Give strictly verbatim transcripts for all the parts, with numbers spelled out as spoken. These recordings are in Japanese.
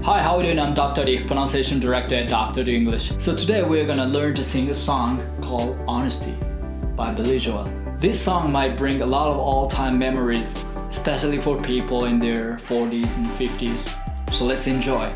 Hi, how are you doing? I'm Doctor D, pronunciation director at Doctor D English. So today we're gonna learn to sing a song called Honesty by Billy Joel. This song might bring a lot of all-time memories, especially for people in their forties and fifties. So let's enjoy.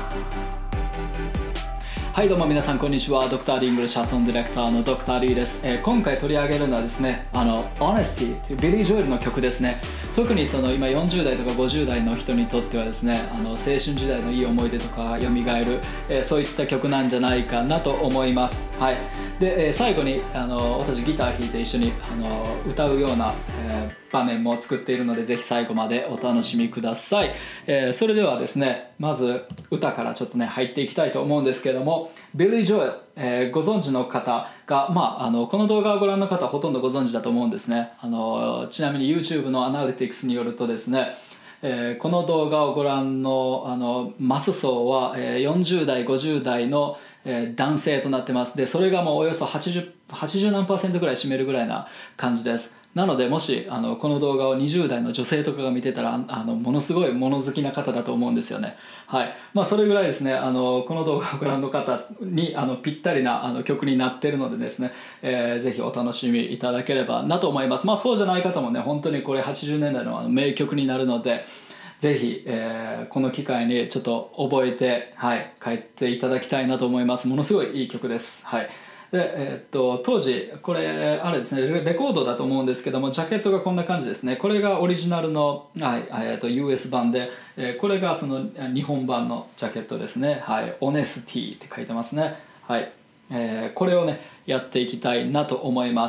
はいどうも皆さんこんにちは。ドクター・ディングルシャツオンディレクターのドクター・リーです、えー、今回取り上げるのはですねあの Honesty というビリー・ジョエルの曲ですね。特にその今よんじゅう代とかごじゅう代の人にとってはですねあの青春時代のいい思い出とか蘇る、えー、そういった曲なんじゃないかなと思います。はいで、えー、最後にあの私ギター弾いて一緒にあの歌うような、えー、場面も作っているのでぜひ最後までお楽しみください。えー、それではですねまず歌からちょっとね入っていきたいと思うんですけどもビリー・ジョエル、えー、ご存知の方が、まあ、あのこの動画をご覧の方はほとんどご存知だと思うんですね。あのちなみに YouTube のアナリティクスによるとですね、えー、この動画をご覧の、あのマス層は、えー、よんじゅう代ごじゅう代の、えー、男性となってます。でそれがもうおよそはちじゅう、はちじゅう何パーセントぐらい占めるぐらいな感じです。なのでもしあのこの動画をにじゅう代の女性とかが見てたらあのものすごい物好きな方だと思うんですよね。はいまあ、それぐらいですねあのこの動画をご覧の方にあのぴったりなあの曲になっているのでですね、えー、ぜひお楽しみいただければなと思います。まあそうじゃない方もね本当にこれはちじゅうねんだい の, あの名曲になるのでぜひ、えー、この機会にちょっと覚えて、はい、帰っていただきたいなと思います。ものすごいいい曲です。はいでえー、っと当時これあれですねレコードだと思うんですけどもジャケットがこんな感じですね。これがオリジナルの、はいえー、っと ユーエス 版で、えー、これがその日本版のジャケットですね。はい、オネスティって書いてますね。はいえー、これをねやっていきたいなと思います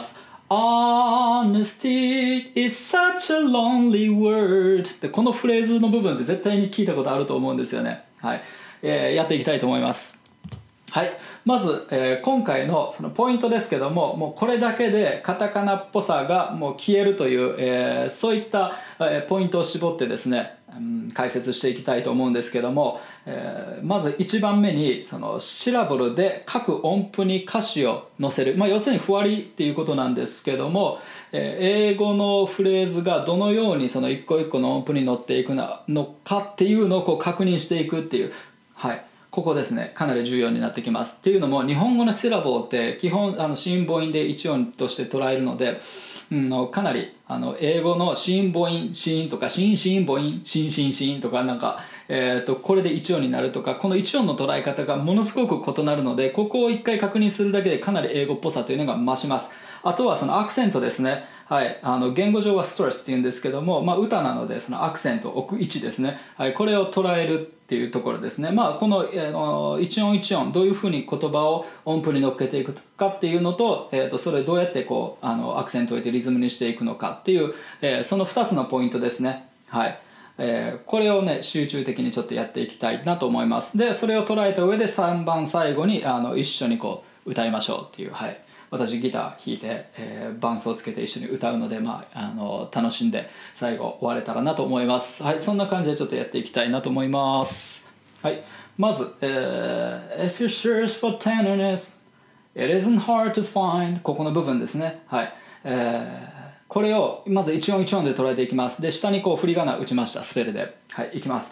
。Honesty is such a lonely word でこのフレーズの部分って絶対に聞いたことあると思うんですよね。はいえー、やっていきたいと思います。はい、まず、えー、今回のそのポイントですけどももうこれだけでカタカナっぽさがもう消えるという、えー、そういった、えー、ポイントを絞ってですね、うん、解説していきたいと思うんですけども、えー、まずいちばんめにそのシラブルで各音符に歌詞を載せる、まあ、要するにふわりっていうことなんですけども、えー、英語のフレーズがどのようにその一個一個の音符に乗っていくのかっていうのをこう確認していくっていうはいここですねかなり重要になってきます。っていうのも日本語のシラボって基本あの子音母音で一音として捉えるので、うん、かなりあの英語の子音母音子音とか子音子音母音子音子音子音とかなんか、えー、とこれで一音になるとかこの一音の捉え方がものすごく異なるのでここを一回確認するだけでかなり英語っぽさというのが増します。あとはそのアクセントですね。はい、あの言語上はストレスっていうんですけども、まあ、歌なのでそのアクセントを置く位置ですね、はい、これを捉えるっていうところですね。まあこの、えー、一音一音どういうふうに言葉を音符に乗っけていくかっていうのと、えー、とそれをどうやってこうあのアクセントを置いてリズムにしていくのかっていう、えー、そのふたつのポイントですね。はいえー、これをね集中的にちょっとやっていきたいなと思います。でそれを捉えた上でさんばん最後にあの一緒にこう歌いましょうっていうはい私ギター弾いて、えー、伴奏をつけて一緒に歌うので、まあ、あの楽しんで最後終われたらなと思います。はい、そんな感じでちょっとやっていきたいなと思います。はい、まず、えー、If you search for tenderness, it isn't hard to find ここの部分ですね。はい、えー、これをまず一音一音で捉えていきます。で、下にこう振り仮名打ちました、スペルで。はい、いきます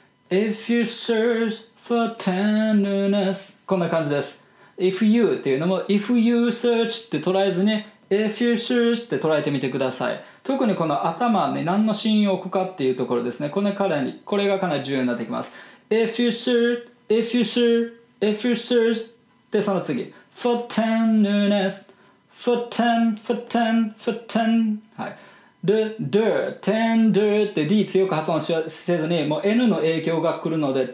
。If you search for tenderness こんな感じです。If you っていうのも If you search って捉えずに If you search って捉えてみてください。特にこの頭に何の子音を置くかっていうところですね。これからにこれがかなり重要になってきます。If you search If you search If you search でその次 For tenderness For ten For ten For ten はいで、der, tender って D 強く発音せずにもう N の影響が来るので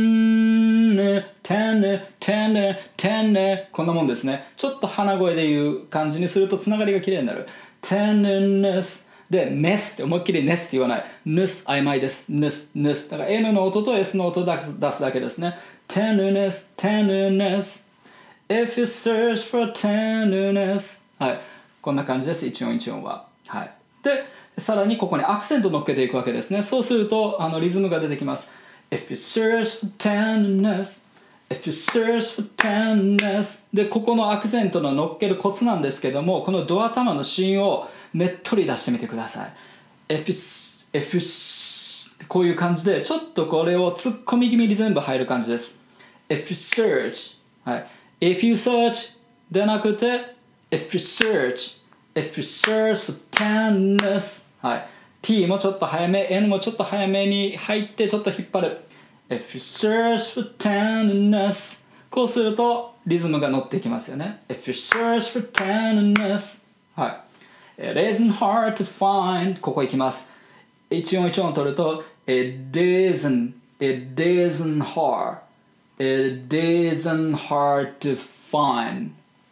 ten, ten, ten, ten こんなもんですね。ちょっと鼻声で言う感じにするとつながりがきれいになる tenderness で ness って思いっきり ness って言わない ness 曖昧です ness, ness だから N の音と S の音を出す、出すだけですね。 tenderness, tenderness If you search for tenderness はいこんな感じです一音一音は。はいでさらにここにアクセントを乗っけていくわけですね。そうするとあのリズムが出てきます。 If you search for tenderness If you search for tenderness でここのアクセントの乗っけるコツなんですけどもこのド頭の子音をねっとり出してみてください。 If you, if you こういう感じでちょっとこれを突っ込み気味に全部入る感じです。 If you search、はい、If you search でなくて If you search If you search for tenderness、はい、T もちょっと早め N もちょっと早めに入ってちょっと引っ張る。 If you search for tenderness、 こうするとリズムが乗ってきますよね。 If you search for tenderness、 はい、It isn't hard to find、 ここいきます。一音一音取ると It isn't It isn't hard It isn't hard to find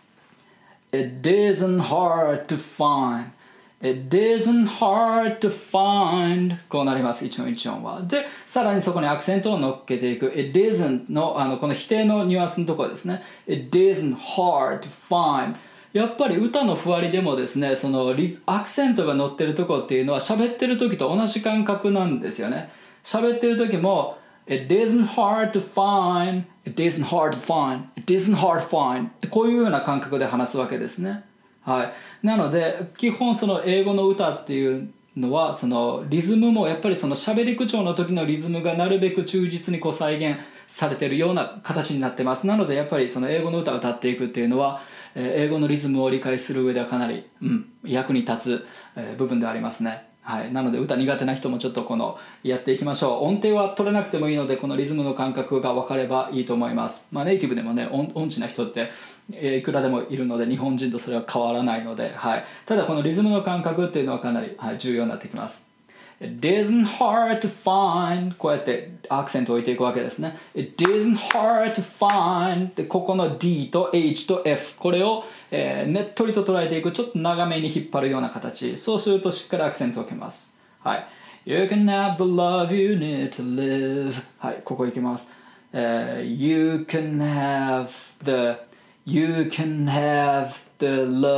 It isn't hard to find It isn't hard to find、 こうなります。一音一音は。でさらにそこにアクセントを乗っけていく It isn't の、あのこの否定のニュアンスのところですね。 It isn't hard to find、やっぱり歌のふわりでもですね、そのリアクセントが乗ってるとこっていうのは喋ってる時と同じ感覚なんですよね。喋ってる時も It isn't hard to find It isn't hard to find It isn't hard to find こういうような感覚で話すわけですね。はい、なので基本その英語の歌っていうのはそのリズムもやっぱりその喋り口調の時のリズムがなるべく忠実にこう再現されてるような形になってます。なのでやっぱりその英語の歌を歌っていくっていうのは英語のリズムを理解する上ではかなり、うん、役に立つ部分ではありますね。はい、なので歌苦手な人もちょっとこのやっていきましょう。音程は取れなくてもいいのでこのリズムの感覚が分かればいいと思います。まあ、ネイティブでもね音音痴な人って、えー、いくらでもいるので日本人とそれは変わらないので、はい、ただこのリズムの感覚っていうのはかなり、はい、重要になってきます。It isn't hard to find こうやってアクセントを置いていくわけですね。 It isn't hard to find でここの D と H と F これを、えー、ねっとりと捉えていくちょっと長めに引っ張るような形。そうするとしっかりアクセントを置けます。はい、You can have the love you need to live、 はい、ここいきます。uh, You can have the You can have the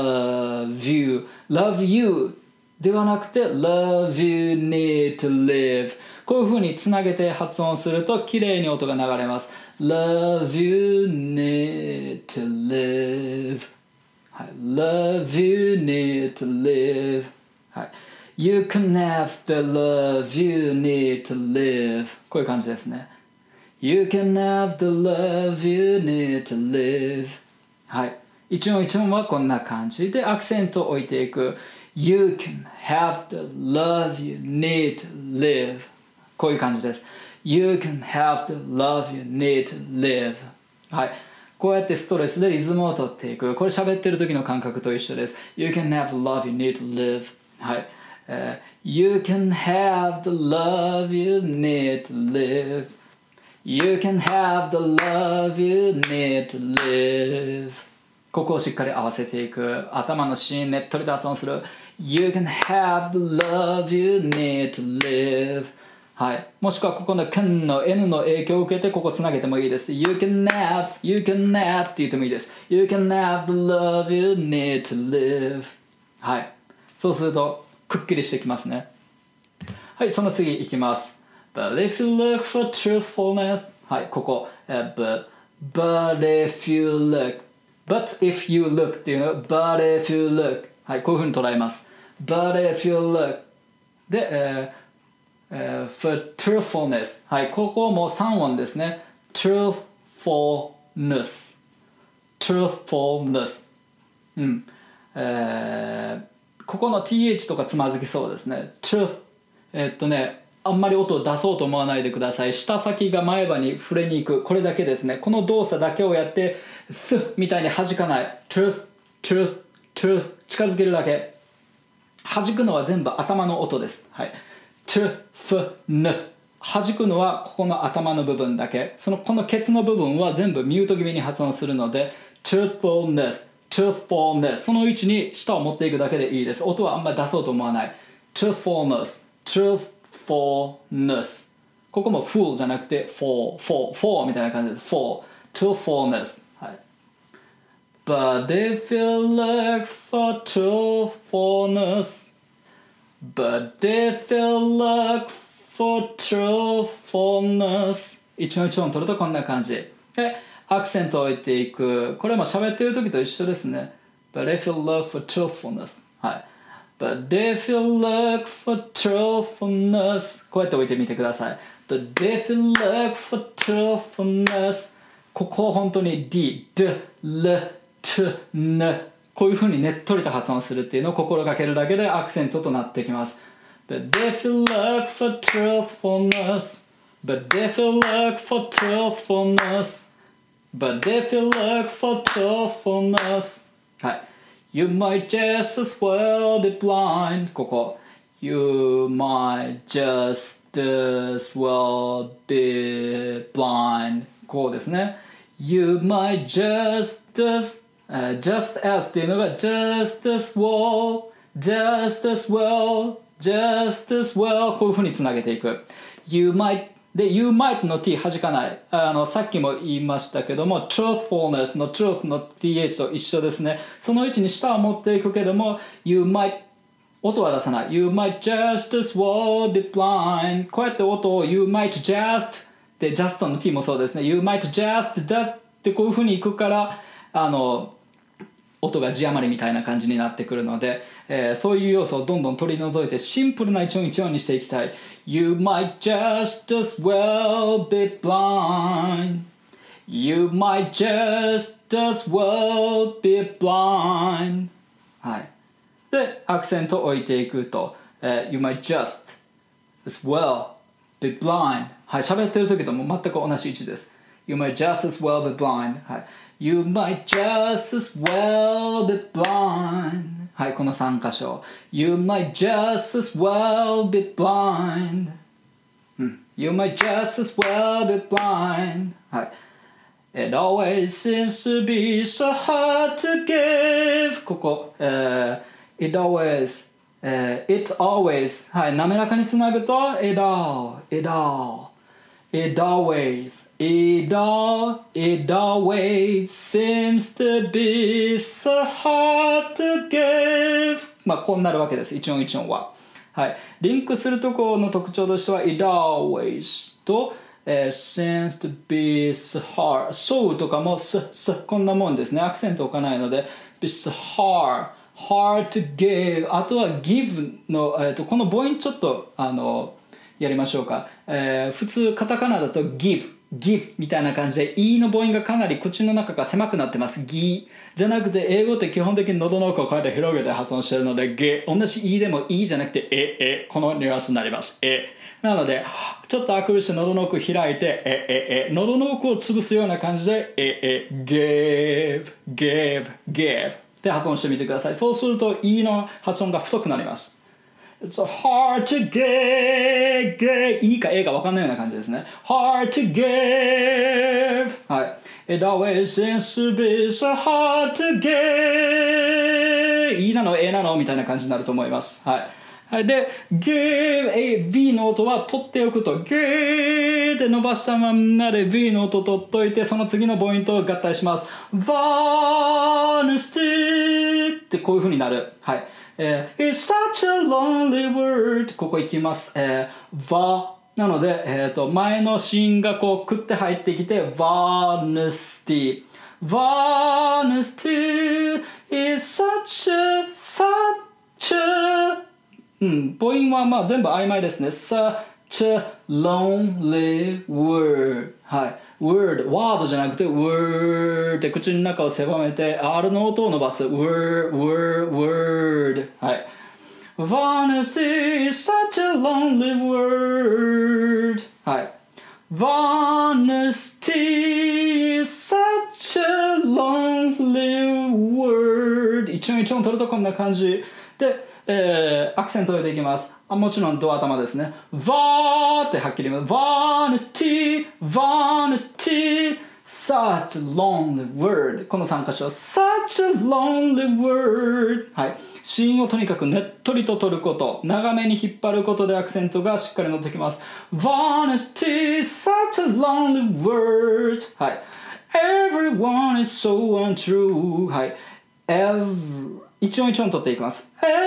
love you Love youではなくて Love you need to live、 こういう風につなげて発音すると綺麗に音が流れます。 Love you need to live、はい、Love you need to live、はい、You can have the love you need to live、 こういう感じですね。 You can have the love you need to live、 はい、一音一音はこんな感じでアクセントを置いていく。You can have the love you need to live、 こういう感じです。 You can have the love you need to live、 はい、こうやってストレスでリズムを取っていく。これ喋ってる時の感覚と一緒です。 You can have the love you need to live、 はい、uh, You can have the love you need to live You can have the love you need to live、 ここをしっかり合わせていく。頭の芯ねっとりと発音する。You can have the love you need to live、 はい、もしくはここの can の N の影響を受けてここつなげてもいいです。 You can have You can have って言ってもいいです。 You can have the love you need to live、 はい、そうするとくっきりしてきますね。はい、その次いきます。 But if you look for truthfulness、 はい、ここ、uh, but, but if you look But if you look っていうのは But if you look、 はい、こういうふうに捉えます。 But if you look で、えーえー、for truthfulness、 はい、ここもさん音ですね。 truthfulness truthfulness、 うん、えー、ここの th とかつまずきそうですね。 truth、 えー、っとねあんまり音を出そうと思わないでください。舌先が前歯に触れに行く、これだけですね。この動作だけをやって th みたいに弾かない。 truth truth truth 近づけるだけ。弾くのは全部頭の音です。はい、truth n 弾くのはここの頭の部分だけ。そのこのケツの部分は全部ミュート気味に発音するので truthfulness truthfulness、 その位置に舌を持っていくだけでいいです。音はあんまり出そうと思わない。 truthfulness truthfulness、ここも fool じゃなくて for for for みたいな感じです。 for truthfulness、はい、But if you look for truthfulness But if you look for truthfulness、 一音一音取るとこんな感じでアクセントを置いていく。これも喋ってる時と一緒ですね。 But if you look for truthfulness、はい、 But if you look for truthfulness こうやって置いてみてください。But if you look for truthfulness ここを本当に D、D、L、T、N こういう風にねっとりと発音するっていうのを心がけるだけでアクセントとなってきます。But if you look for truthfulness But if you look for truthfulness But if you look for truthfulness はい。You might just as well be blind ここ You might just as well be blind こうですね You might just as、uh, just as っていうのが just as well just as well just as well こういう風につなげていく You mightで You might の t 弾かないあのさっきも言いましたけども truthfulness の truth の th と一緒ですねその位置に下は持っていくけども You might 音は出さない You might just as well be blind こうやって音を You might just で just の t もそうですね You might just just ってこういう風にいくからあの音が字余りみたいな感じになってくるので、えー、そういう要素をどんどん取り除いてシンプルな一音一音にしていきたい You might just as well be blind You might just as well be blind はいでアクセントを置いていくと、えー、You might just as well be blind はい喋ってる時とも全く同じ位置です You might just as well be blind はいYou might just as well be blind はいこのさん箇所 You might just as well be blind、うん、You might just as well be blind はい It always seems to be so hard to give ここ、えー、It always、えー、It always はい滑らかにつなぐと It all It all It always, it all, it always seems to be so hard to give まあこうなるわけです一音一音ははいリンクするところの特徴としては It always と、えー、seems to be so hard so とかも s, s こんなもんですねアクセント置かないので be so hard hard to give あとは give の、えー、とこの母音ちょっとあのやりましょうか、えー、普通カタカナだと give give みたいな感じで E の母音がかなり口の中が狭くなってますギじゃなくて英語って基本的に喉の奥をこうやって広げて発音してるのでゲ同じ E でも E じゃなくてええこのニュアンスになりますえなのでちょっとあくびして喉の奥開いてえええ喉の奥を潰すような感じでええ give give give って発音してみてくださいそうすると E の発音が太くなりますIt's hard to get, get いいか A か分かんないような感じですね Hard to give はい It always seems to be so hard to get いいなの A なのみたいな感じになると思いますはい、はい、で give A B の音は取っておくと give って伸ばしたまんまで B の音取っといてその次の母音と合体します Honesty ってこういう風になるはいえー、It's such a lonely word ここ行きます、えー、va なので、えー、と前の子音がこうくって入ってきて Honesty Honesty is such a such a うん母音はまあ全部曖昧ですね Such a lonely word はいword、ワードじゃなくて word って口の中を狭めて R の音を伸ばす word, word, word はい Honesty is such a lonely word はい Honesty is such a lonely word 一音一音取るとこんな感じでえー、アクセントを入れていきますあもちろんドア頭ですね Va ってはっきり言います Honesty Honesty Such a lonely word このさん箇所 Such a lonely word はい子音をとにかくねっとりと取ること長めに引っ張ることでアクセントがしっかり乗ってきます Honesty Such a lonely word はい Everyone is so untrue はい Every一音一音取っていきます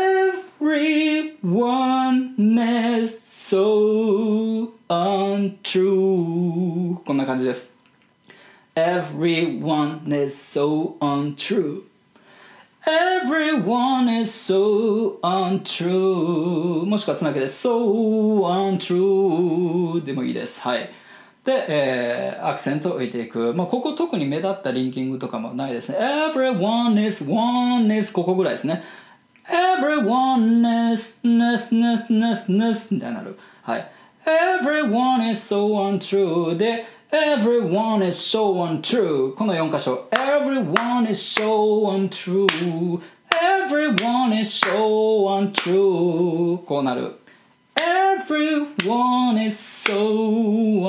Everyone is so untrue こんな感じです Everyone is so untrue Everyone is so untrue もしくはつなげて so untrue でもいいです。はい。で、えー、アクセントを置いていく。まあ、ここ特に目立ったリンキングとかもないですね。Everyone is one is ここぐらいですね。Everyone is ness ness ness ness みたいになる。はい。Everyone is so untrue でEveryone is so untrue このよん箇所 Everyone is so untrue Everyone is so untrue こうなる Everyone is so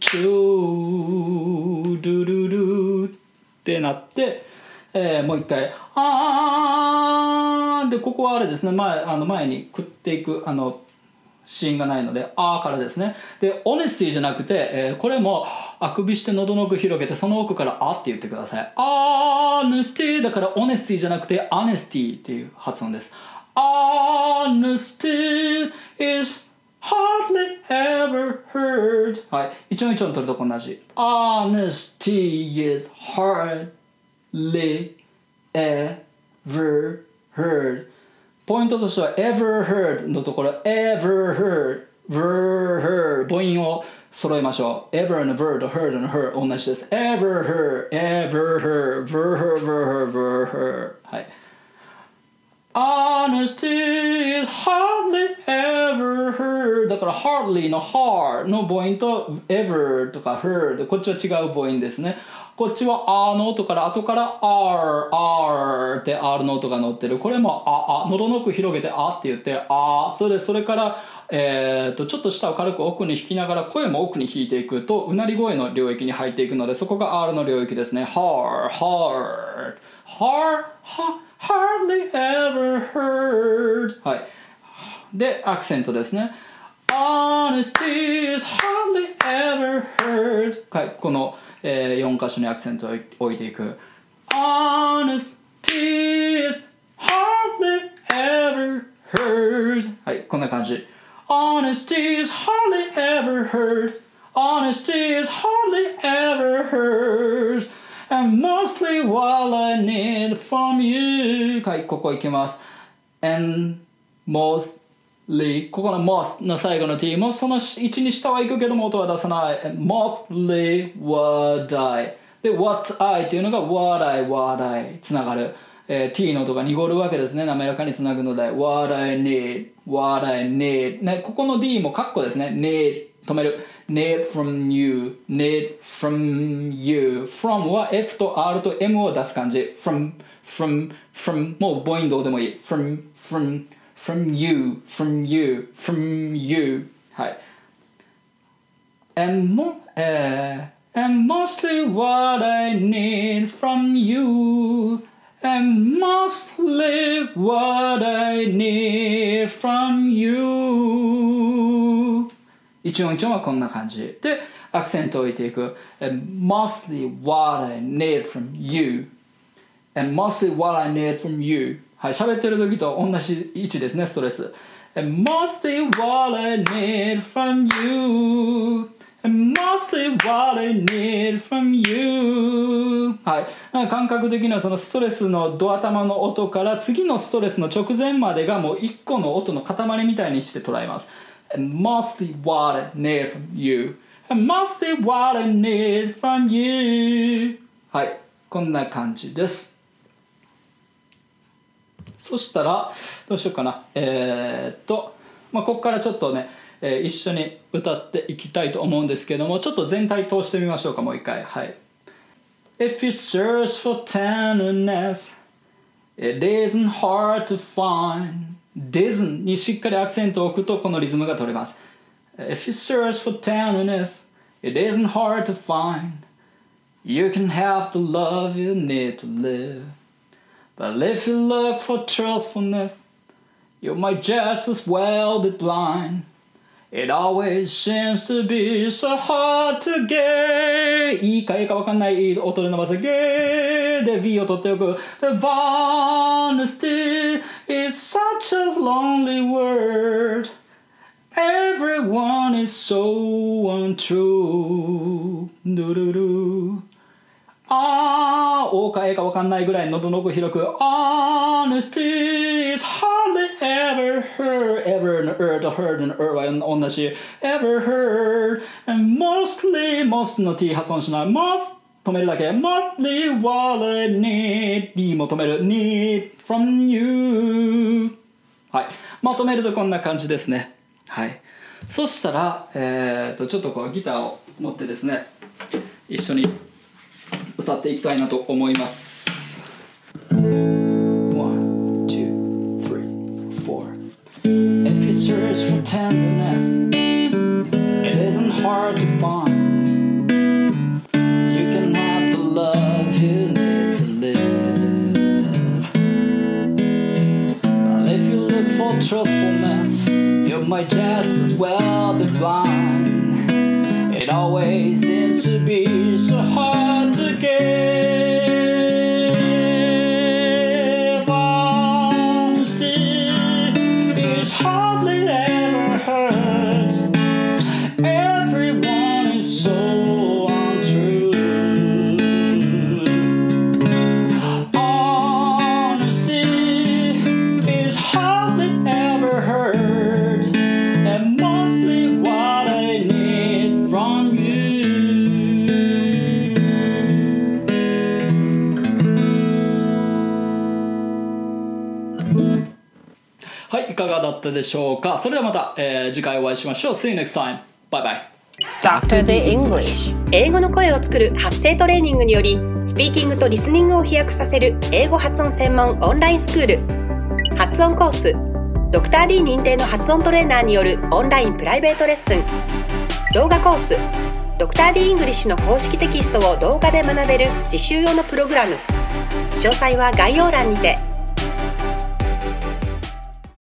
untrue ドゥドゥドゥってなって、えー、もう一回あーでここはあれですね 前, あの前に食っていくあのシーンがないのであーからですね。で honesty じゃなくて、えー、これもあくびして喉の奥広げてその奥からあって言ってください。honesty だから honesty じゃなくて honesty っていう発音です。honesty is hardly ever heard はい一音一音取ると同じ honesty is hardly ever heardポイントとしては ever heard のところ ever heard ver heard 母音を揃えましょう ever の ver と heard の her 同じです ever heard ever heard ver heard ver heard ver heard はい honesty is hardly ever heard だから hardly の hard の母音と ever とか heard こっちは違う母音ですねこっちはあの音から後から r r って r の音が乗ってるこれもああ喉の奥広げてあって言ってあそれそれからえー、とちょっと舌を軽く奥に引きながら声も奥に引いていくとうなり声の領域に入っていくのでそこが R の領域ですね hard hard hard hardly ever heard はいでアクセントですね honesty is hardly ever heard はいこのえー、よん箇所にアクセントを置いていく Honesty is hardly ever heard はいこんな感じ Honesty is hardly ever heard Honesty is hardly ever heard And mostly what I need from you はいここ行きます And mostここの most の最後の t もそのいちに下は行くけども音は出さない mostly what I で what I っていうのが what I what I つながる、えー、t の音が濁るわけですね滑らかにつなぐので what I need what I need、ね、ここの d もカッコですね need 止める need from you need from you from は f と r と m を出す感じ from from from もう母音どうでもいい from from from you, from you, from you はい and, mo- uh, and mostly what I need from you and mostly what I need from you 一音一音はこんな感じでアクセントを置いていく and mostly what I need from you and mostly what I need from youはい、喋ってる時と同じ位置ですね、ストレス。And mostly what I need from you. And mostly what I need from you. はい。感覚的にはそのストレスのドア玉の音から次のストレスの直前までがもう一個の音の塊みたいにして捉えます。And mostly what I need from you. And mostly what I need from you. はい。こんな感じです。そしたらどうしようかなえー、っとまあここからちょっとね、えー、一緒に歌っていきたいと思うんですけどもちょっと全体通してみましょうかもう一回はい If you search for tenderness It isn't hard to find Disn't にしっかりアクセントを置くとこのリズムが取れます If you search for tenderness It isn't hard to find You can have the love you need to live But if you look for truthfulness, you might just as well be blind. It always seems to be so hard to get. いいかいいかわかんない音で伸ばす get で V を取っておく The honesty is such a lonely word. Everyone is so untrue. Do do do. あー、O か A か分かんないぐらい喉の奥広く Honesty is hardly ever heard ever and heard heard and heard は同じ ever heard and mostly most の T 発音しない most 止めるだけ mostly what I need D も止める need from you はい、まとめるとこんな感じですね。はい、そしたら、えー、とちょっとこうギターを持ってですね一緒に歌っていきたいなと思います。 One, two, three, four If you search for tenderness It isn't hard to find You can have the love you need to live If you look for truthfulness You might just as well divine It always seems to be so hard to give Honesty is hardly ever heard Everyone is so untrue Honesty is hardly ever heard And mostly what I need from youはい、いかがだったでしょうか。それではまた、えー、次回お会いしましょう。See you next time. Bye bye. ドクター The English 英語の声を作る発声トレーニングによりスピーキングとリスニングを飛躍させる英語発音専門オンラインスクール発音コースドクター D 認定の発音トレーナーによるオンラインプライベートレッスン動画コースドクター D イングリッシュの公式テキストを動画で学べる実習用のプログラム詳細は概要欄にて